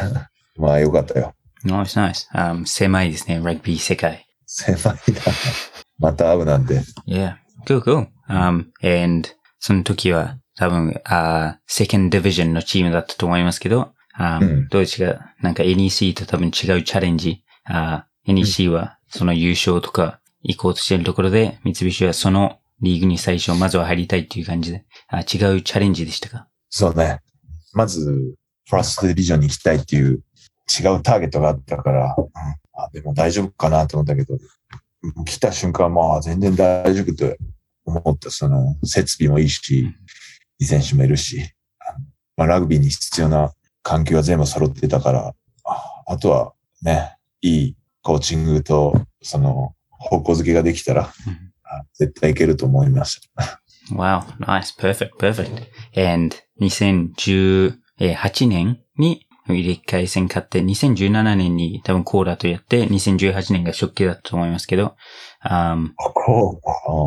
まあよかったよ。 Nice, nice. Um, 狭いですね、ラグビー世界。 狭いな。また会うなんて。 Yeah. Cool, cool. Um, and その時は多分、あ、Second Division のチームだったと思いますけど、um, うん、どうですか？なんか エヌイーシー と多分違うチャレンジ。あ、エヌイーシー はその優勝とか行こうとしているところで、三菱はそのリーグに最初まずは入りたいっていう感じで、あ、違うチャレンジでしたか？ そうね。まず、ファーストディビジョンに行きたいっていう違うターゲットがあったから、うん、あ、でも大丈夫かなと思ったけど、来た瞬間まあ全然大丈夫と思った。その設備もいいし、いい選手もいるし、まあ、ラグビーに必要な環境が全部揃ってたから、あ、あとはね、いいコーチングとその方向づけができたら、うん、絶対いけると思いました。 Wow, nice, perfect, perfect. And にせんじゅうはちねんに入れ替え戦勝って、にせんじゅうななねんに多分コーラとやって、にせんじゅうはちねんが初期だったと思いますけど、um, こ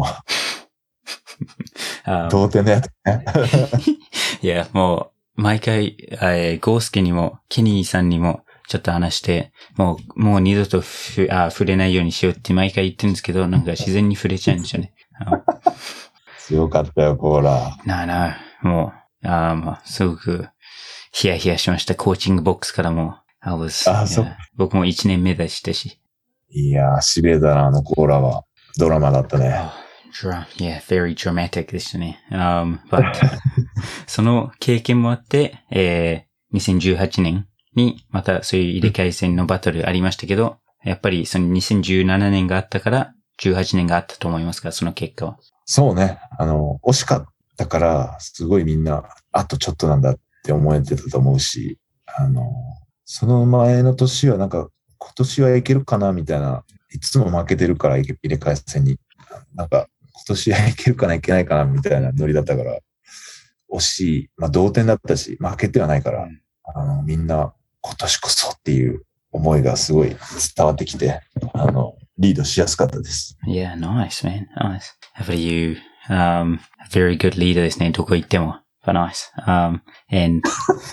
う、同点のやつね。 いや、もう、毎回、えー、ゴースケにも、ケニーさんにも、ちょっと話して、もう、もう二度とふあ触れないようにしようって毎回言ってるんですけど、なんか自然に触れちゃうんですよね。 強かったよ、コーラ。 なあなあ、もう、あまあ、すごく、ヒヤヒヤしました。コーチングボックスからも。I was, あ、そう。 僕も一年目でしたし。 いやー、痺れたな、あのコーラは。ドラマだったね。 Oh, yeah, very dramatic でしたね。Um, but その経験もあって、えー、にせんじゅうはちねんにまたそういう入れ替え戦のバトルありましたけど、やっぱりそのにせんじゅうななねんがあったから、じゅうはちねんがあったと思いますか、その結果は。 そうね。あの、惜しかったから、すごいみんな、あとちょっとなんだって思えてたと思うし、あの、その前の年はなんか、今年はいけるかなみたいな、いつも負けてるから入れ替え戦に。なんか、今年はいけるかないけないかなみたいなノリだったから、惜しい。まあ同点だったし、負けてはないから、うん、あの、みんな今年こそっていう思いがすごい伝わってきて、あの、リードしやすかったです。 Yeah, nice, man. Nice. やっぱり you, um, a very good leader ですね。どこ行っても。But nice. Um, and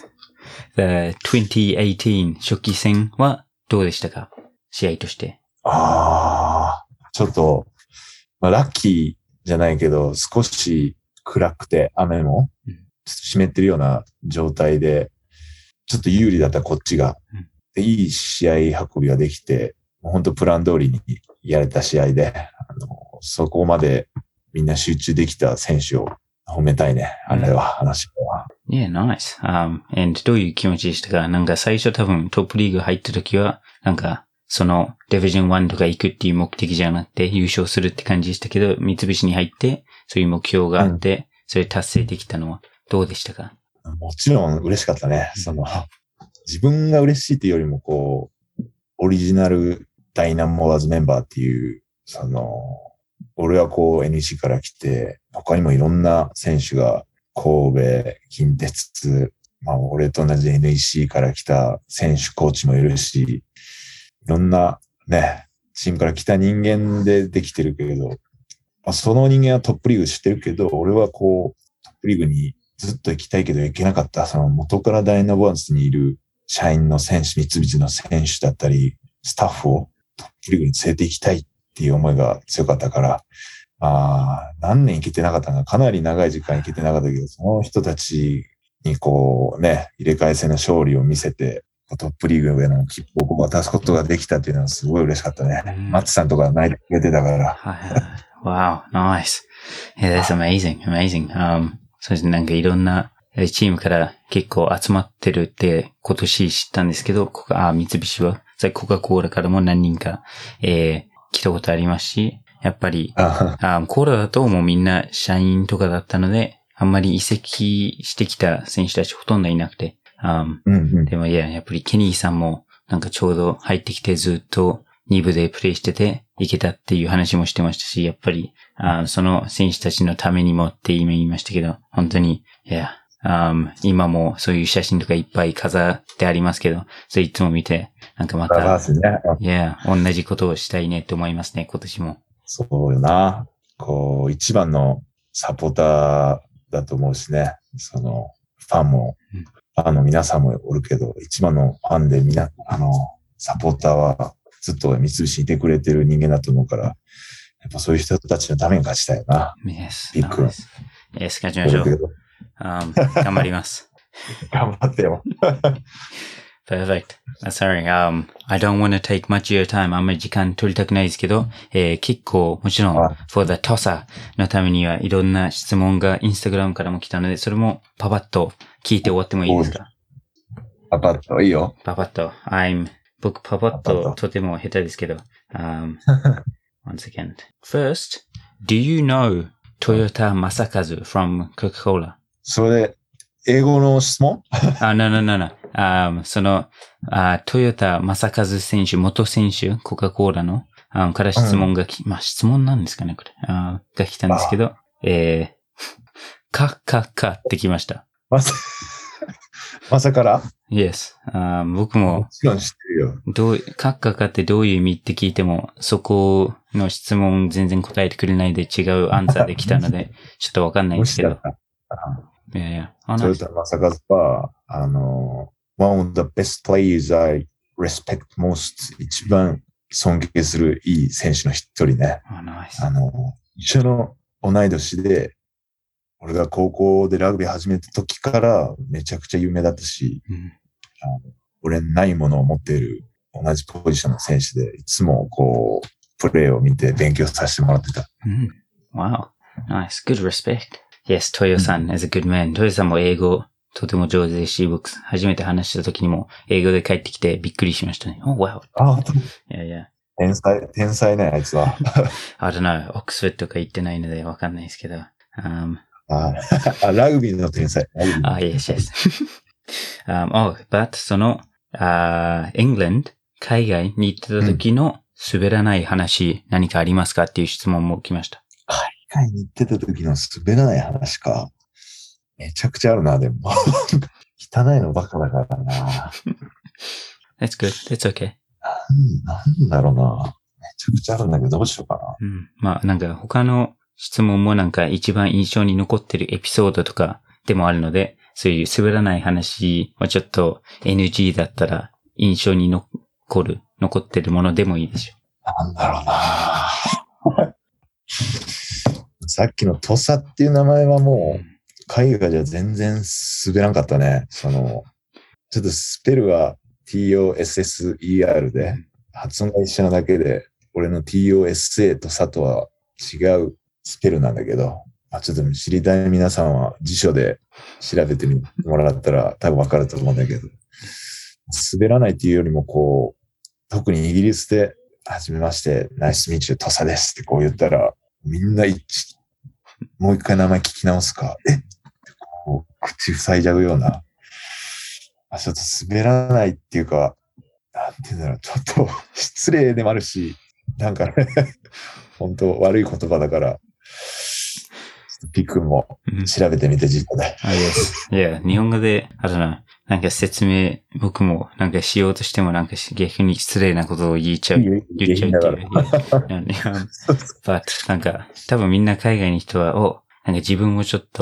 the twenty eighteen 初期戦はどうでしたか？試合として。 ああ、ちょっと、まあ、ラッキーじゃないけど、少し暗くて雨も湿ってるような状態で、ちょっと有利だったこっちが、でいい試合運びができて、本当プラン通りにやれた試合で、あのそこまでみんな集中できた選手を褒めたいね。あれは、話は。 Yeah, nice. Um, and どういう気持ちでしたか？なんか最初多分トップリーグ入った時は、なんかそのディビジョンワンとか行くっていう目的じゃなくて優勝するって感じでしたけど、三菱に入ってそういう目標があって、うん、それ達成できたのはどうでしたか？ もちろん嬉しかったね。その、自分が嬉しいっていうよりもこう、オリジナルダイナモアーズメンバーっていう、その、俺はこう エヌイーシー から来て、他にもいろんな選手が神戸、近鉄、まあ俺と同じ エヌイーシー から来た選手、コーチもいるし、いろんなね、チームから来た人間でできてるけれど、まあ、その人間はトップリーグ知ってるけど、俺はこう、トップリーグにずっと行きたいけど行けなかった、その元からダイナボアーズにいる社員の選手、三菱の選手だったり、スタッフをトップリーグに連れて行きたいっていう思いが強かったから、まあ、何年行けてなかったのか、かなり長い時間行けてなかったけど、その人たちにこうね、入れ替え戦の勝利を見せて、トップリーグへの切符を渡すことができたっていうのはすごい嬉しかったね。 うん、 マッツさんとか泣いてくれてたから。 はいはい。Wow, nice. Yeah, that's amazing, amazing. Um, そうですね、なんかいろんなチームから結構集まってるって今年知ったんですけど、ここあ三菱は、コカ・コーラからも何人か、えー、来たことありますし、やっぱり、あコーラだともうみんな社員とかだったので、あんまり移籍してきた選手たちほとんどいなくて、Um, うんうん、 でもいや、やっぱりケニーさんもなんかちょうど入ってきてずっとに部でプレイしてていけたっていう話もしてましたし、やっぱりあその選手たちのためにもって今言いましたけど、本当に、いや、um, 今もそういう写真とかいっぱい飾ってありますけど、それいつも見て、なんかまた、いや、同じことをしたいねって思いますね、今年も。 そうよな。こう、一番のサポーターだと思うしね、その、ファンも、うんファンの皆さんもおるけど、一番のファンでみな、あの、サポーターはずっと三菱にいてくれてる人間だと思うから、やっぱそういう人たちのために勝ちたいよな。 Yes. ビッグ。 Yes. 勝ちましょう。um, 頑張ります。 頑張ってよ。 Perfect. Sorry, um, I don't want to take much of your time. あんまり時間取りたくないですけど、えー、結構もちろん for the tosser のためにはいろんな質問がインスタグラムからも来たので、それもパパッと聞いて終わってもいいですか？ パパッといいよ。 パパッと。I'm 僕パパッととても下手ですけど。Um, one second. First, do you know Toyota Masakazu from Coca-Cola? それ、英語の質問？ あ、no, no, no, no. Um, その、あ、トヨタ正和選手、元選手、コカ・コーラの、あから質問がき、うん、まあ、質問なんですかね、これ。あが来たんですけど、えー、か、か、かってきました。 まさ、まさから ?Yes. あ僕も、 もちろん知ってるよ。 どう、かっかかってどういう意味って聞いても、そこの質問全然答えてくれないで違うアンサーで来たので、ちょっとわかんないんですけど。いやいや。 トヨタ正和は、あの、one of the best players I respect most 一番尊敬するいい選手の一人ね。 Oh, nice. あの、一緒の同い年で、俺が高校でラグビー始めた時からめちゃくちゃ有名だったし、うん、あの俺ないものを持っている同じポジションの選手で、いつもこう、プレーを見て勉強させてもらってた。 うん、wow. Nice. Good respect.Yes, トヨさん is a good man. トヨさんも英語とても上手ですし、僕初めて話した時にも英語で帰ってきてびっくりしましたね。Oh, wow. あ、本当に？いやいや。 天才、天才ね、あいつは。 I don't know. オックスフォードとか行ってないのでわかんないですけど。Um, ああ、ラグビーの天才。 あ、yes, yes. um, oh, but その、uh, England、海外に行ってた時の滑らない話、うん、何かありますかっていう質問も来ました。 海外に行ってた時の滑らない話か。めちゃくちゃあるな、でも。汚いのばっかだからな。 That's good. That's okay. なん、なんだろうな。めちゃくちゃあるんだけど、どうしようかな。 うん。まあ、なんか他の質問もなんか一番印象に残ってるエピソードとかでもあるので、そういう滑らない話はちょっと エヌジー だったら印象に残る、残ってるものでもいいでしょう。なんだろうな。さっきのトサっていう名前はもう、海外じゃ全然滑らんかったね。その、ちょっとスペルは ティーオーエスエスイーアール で、発音が一緒なだけで、俺の ティーオーエスエー とサとは違うスペルなんだけど、まあ、ちょっと知りたい皆さんは辞書で調べてみてもらったら多分わかると思うんだけど、滑らないっていうよりもこう、特にイギリスで、はじめまして、ナイスミーチュートサですってこう言ったら、みんな一致、もう一回名前聞き直すか、えこう口塞いじゃうような、あ、ちょっと滑らないっていうか、なんていうんだろう、ちょっと失礼でもあるし、なんかね、本当悪い言葉だから、ピックも調べてみて、実家で。 あ、いや、いや、日本語で、あれな、なんか説明、僕もなんかしようとしてもなんか逆に失礼なことを言っちゃう。言っちゃうっていう。But なんか、多分みんな海外の人は、お、なんか自分もちょっと、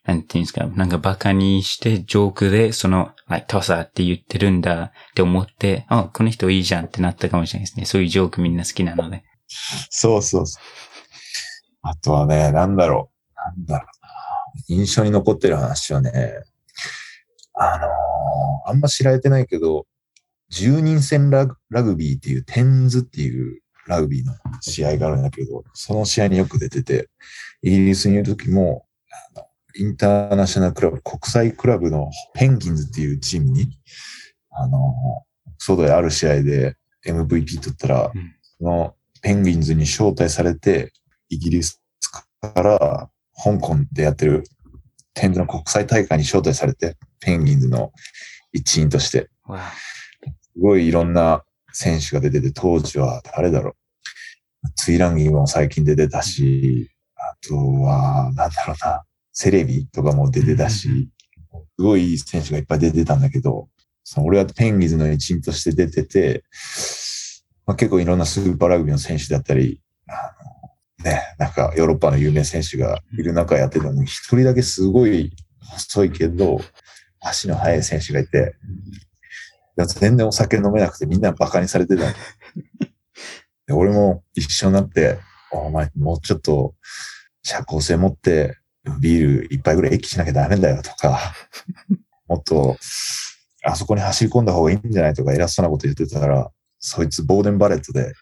なんていうんですか、なんかバカにしてジョークでその、like トサって言ってるんだって思って、あ、この人いいじゃんってなったかもしれないですね。そういうジョークみんな好きなので。 そうそうそう。あとはね、なんだろう。なんだろうな。印象に残ってる話はね、あのー、あんま知られてないけど、じゅうにん戦ラグ、ラグビーっていう、テンズっていうラグビーの試合があるんだけど、その試合によく出てて、イギリスにいる時も、あのインターナショナルクラブ、国際クラブのペンギンズっていうチームに、あのー、外である試合で エムブイピー 取ったら、うん、そのペンギンズに招待されて、イギリスから香港でやってるテンズの国際大会に招待されて、ペンギンズの一員として、すごいいろんな選手が出てて、当時は誰だろう。ツイランギーも最近出てたし、あとは、なんだろうな、セレビとかも出てたし、すごいいい選手がいっぱい出てたんだけど、その俺はペンギンズの一員として出てて、まあ、結構いろんなスーパーラグビーの選手だったり、あのね、なんかヨーロッパの有名選手がいる中やってたのに、一人だけすごい細いけど、足の速い選手がいて、全然お酒飲めなくてみんなバカにされてた。で俺も一緒になって、お前もうちょっと社交性持ってビール一杯ぐらい息しなきゃダメだよとか、もっとあそこに走り込んだ方がいいんじゃないとか偉そうなこと言ってたら、そいつボーデンバレットで、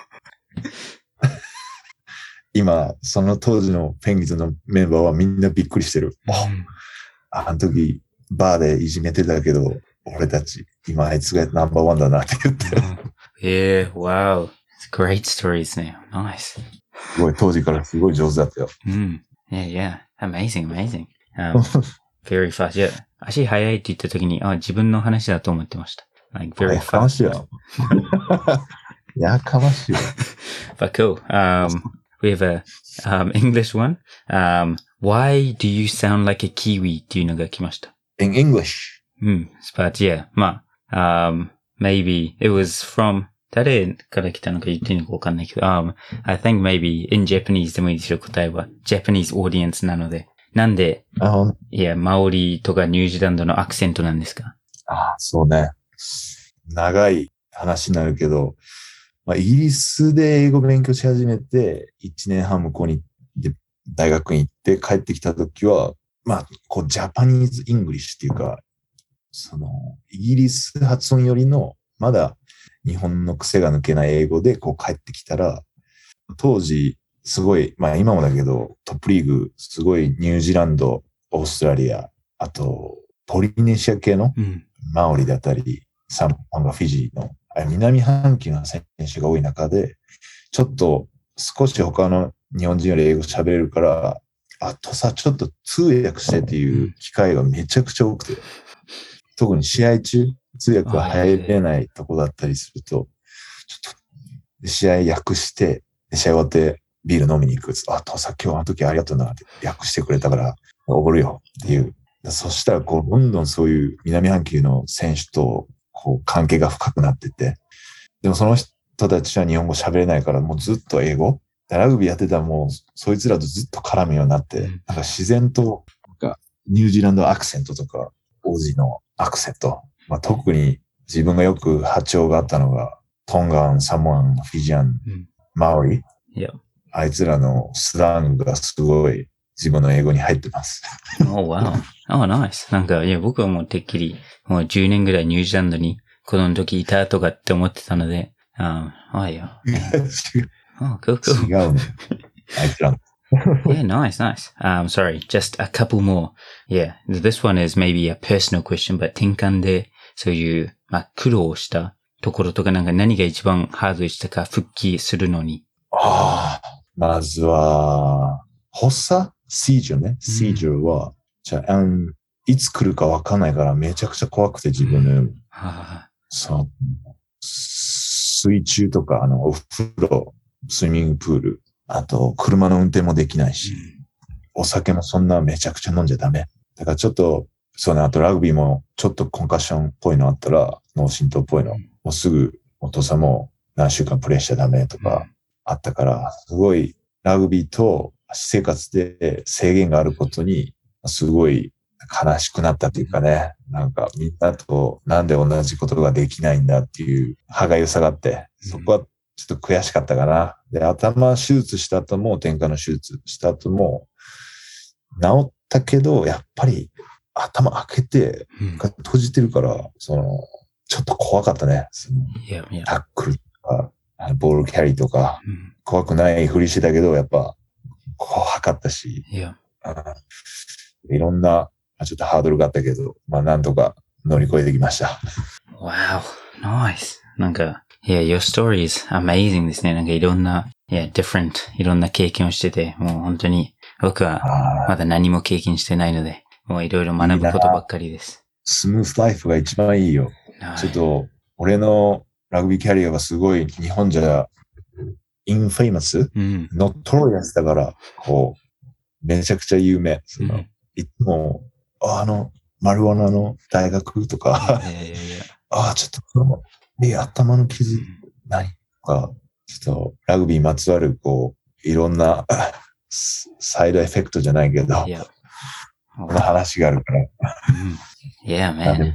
今その当時のペンギンズのメンバーはみんなびっくりしてる。うん、あの時バーでいじめてたけど、俺たち、今あいつがナンバーワンだなって言ってる。 ええ、wow. Great stories ね。Nice. すごい、当時からすごい上手だったよ。 うん。Yeah, yeah. Amazing, amazing. Um, very fast. Yeah. 足速いって言った時に、あ、自分の話だと思ってました。Like, very fast. やかましいよ。やかましいよ。 But cool. Um, we have a um, English one. Um, why do you sound like a Kiwi? っていうのが来ました。 In English? うん。But yeah, まあ、um, maybe it was from 誰から来たのか言っていいのかわかんないけど、um, I think maybe in Japanese でもいいですよ、答えは。Japanese audience なので。なんで、 あいや、マオリとかニュージーランドのアクセントなんですか？ ああ、そうね。長い話になるけど、まあ、イギリスで英語勉強し始めて、いちねんはん向こうにで大学に行って帰ってきたときは、まあ、こう、ジャパニーズ・イングリッシュっていうか、その、イギリス発音よりの、まだ日本の癖が抜けない英語でこう帰ってきたら、当時、すごい、まあ今もだけど、トップリーグ、すごいニュージーランド、オーストラリア、あと、ポリネシア系のマオリだったり、サモアがフィジーの、南半球の選手が多い中で、ちょっと少し他の日本人より英語喋れるから、あとさ、ちょっと通訳してっていう機会がめちゃくちゃ多くて、特に試合中、通訳が入れないとこだったりすると、ちょっと試合訳して、試合終わってビール飲みに行く。あ、とさ、今日あの時ありがとうなって訳してくれたからおごるよっていう。そしたらこう、どんどんそういう南半球の選手とこう関係が深くなってて、でもその人たちは日本語喋れないからもうずっと英語。ラグビーやってたらもうそいつらとずっと絡むようになって、なんか自然となんかニュージーランドアクセントとか、オージーのアクセント。まあ、特に自分がよく波長があったのが、トンガン、サモアン、フィジアン、うん、マオリ。 Yeah. あいつらのスラングがすごい自分の英語に入ってます。 Oh, wow. Oh, nice. なんか、いや、僕はもうてっきり、もうじゅうねんぐらいニュージーランドに子供の時いたとかって思ってたので、ああ、あいや。Oh, cool, cool. 違うね。あいつらの。 Yeah, nice, nice. Um, sorry, just a couple more. Yeah, this one is maybe a personal question, but 転換でそういう、まあ、苦労したところとかなんか何が一番ハードでしたか、復帰するのに。 ああ、まずは、発作シージューね。シージューは、じゃあ、うん、いつ来るかわかんないからめちゃくちゃ怖くて自分の、うんはその水中とか、あの、お風呂、スイミングプール、あと、車の運転もできないし、お酒もそんなめちゃくちゃ飲んじゃダメ。だからちょっと、そうね、あとラグビーもちょっとコンカッションっぽいのあったら、脳震盪っぽいの、もうすぐお父さんも何週間プレイしちゃダメとかあったから、すごいラグビーと私生活で制限があることにすごい悲しくなったというかね、なんかみんなとなんで同じことができないんだっていう歯がゆさがあって、そこはちょっと悔しかったかな。で、頭手術した後も、天下の手術した後も、治ったけど、やっぱり頭開けて、閉じてるから、その、ちょっと怖かったね。その Yeah, yeah. タックルとか、ボールキャリーとか、怖くないふりしてたけど、やっぱ怖かったし、 Yeah. いろんな、ちょっとハードルがあったけど、まあなんとか乗り越えてきました。 Wow, nice. なんか、Yeah, your story is amazing ですね。なんかいろんな、Yeah, different いろんな経験をしてて、もう本当に僕はまだ何も経験してないので、もういろいろ学ぶことばっかりです。 スムースライフが一番いいよ。ちょっと、俺のラグビーキャリアがすごい日本じゃ、インフェイマス、うん、ノットロイヤスだから、こう、めちゃくちゃ有名。その、うん、いつも、あの、マリワナの大学とか、いやいやいやああ、ちょっと、この、え、頭の傷、何とか、ちょっと、ラグビーまつわる、こう、いろんな、サイドエフェクトじゃないけど、いやこの話があるから。 いや、man.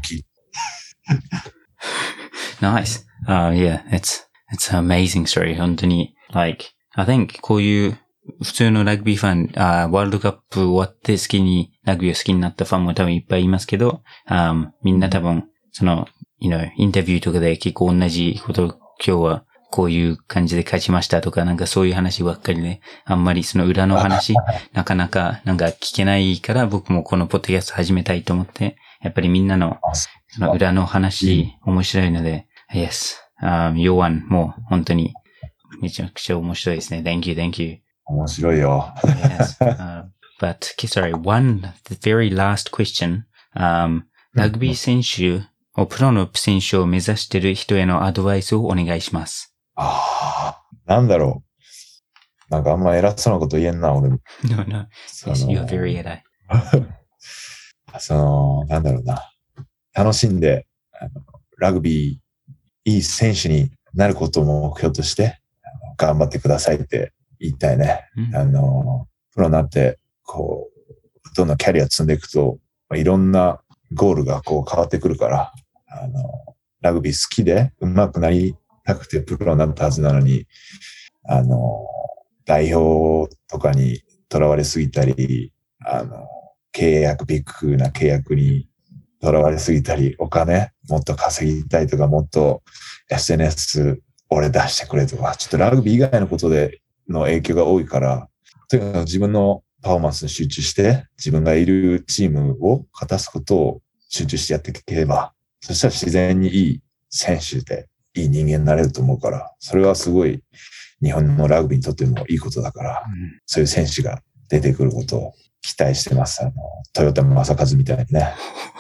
Nice. Uh, yeah, it's, it's an amazing story. 本当に、like, I think こういう普通のラグビーファン、uh, ワールドカップ終わって好きに、ラグビーを好きになったファンも多分いっぱいいますけど、um, みんな多分、その、you know, インタビューとかで結構同じことを今日はこういう感じで勝ちましたとか、なんかそういう話ばっかりで、あんまりその裏の話、なかなかなんか聞けないから僕もこのポッドキャスト始めたいと思って、やっぱりみんなのその裏の話、面白いので、Yes, um, ヨワンも本当にめちゃくちゃ面白いですね。Thank you, thank you. 面白いよ。 Yes, uh, but sorry, one, the very last question. Um, ラグビー選手をプロの選手を目指している人へのアドバイスをお願いします。 ああ、なんだろう。なんかあんま偉そうなこと言えんな、俺も。 No, no. Yes, you're very偉い。 その、なんだろうな。楽しんで、あのラグビー、いい選手になることを目標として、頑張ってくださいって言いたいね。うん、あの、プロになって、こう、どんどんキャリア積んでいくと、いろんなゴールがこう変わってくるから、あの、ラグビー好きで上手くなりたくてプロになったはずなのに、あの、代表とかにとらわれすぎたり、あの、契約、ビッグな契約にとらわれすぎたり、お金もっと稼ぎたいとか、もっと エスエヌエス 俺出してくれとか、ちょっとラグビー以外のことでの影響が多いから、とにかく自分のパフォーマンスに集中して、自分がいるチームを勝たすことを集中してやっていければ、そしたら自然にいい選手で、いい人間になれると思うから、それはすごい日本のラグビーにとってもいいことだから、うん、そういう選手が出てくることを期待してます。あの、トヨタ正和みたいにね。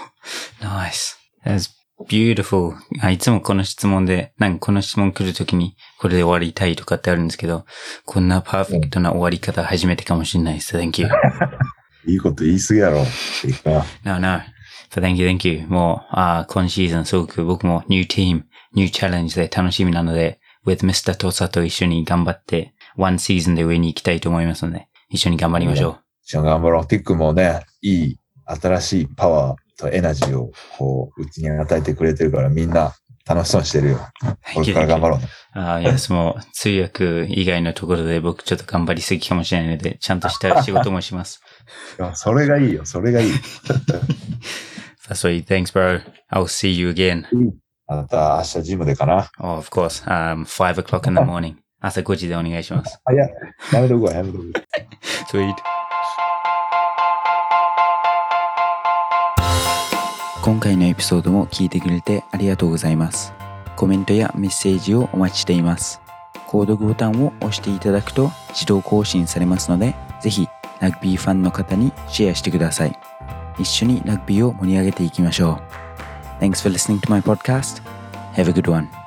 Nice. That's beautiful. いつもこの質問で、なんかこの質問来るときにこれで終わりたいとかってあるんですけど、こんなパーフェクトな終わり方初めてかもしれないです。Thank you. いいこと言い過ぎやろ。 No, no. But thank you, thank you. もう、あ今シーズンすごく僕もニューチーム、ニューチャレンジで楽しみなので、with ミスター トサと一緒に頑張って、ワンシーズンで上に行きたいと思いますので、一緒に頑張りましょう。 一緒に頑張ろう。ティックもね、いい、新しいパワーとエナジーを、こう、うちに与えてくれてるから、みんな楽しそうにしてるよ。これから頑張ろうね。 ああ、いや、もう、通訳以外のところで僕ちょっと頑張りすぎかもしれないので、ちゃんとした仕事もします。 それがいいよ、それがいい。 That's right. Thanks, bro. I'll see you again. また明日ジムでかな。 Oh, of course. Um, five o'clock in the morning. 朝ごじでお願いします。 あ、いや、やめとくわ、やめとく。 Sweet. 今回のエピソードも聞いてくれてありがとうございます。コメントやメッセージをお待ちしています。購読ボタンを押していただくと自動更新されますので、ぜひラグビーファンの方にシェアしてください。一緒にラグビーを盛り上げていきましょう。Thanks for listening to my podcast. Have a good one.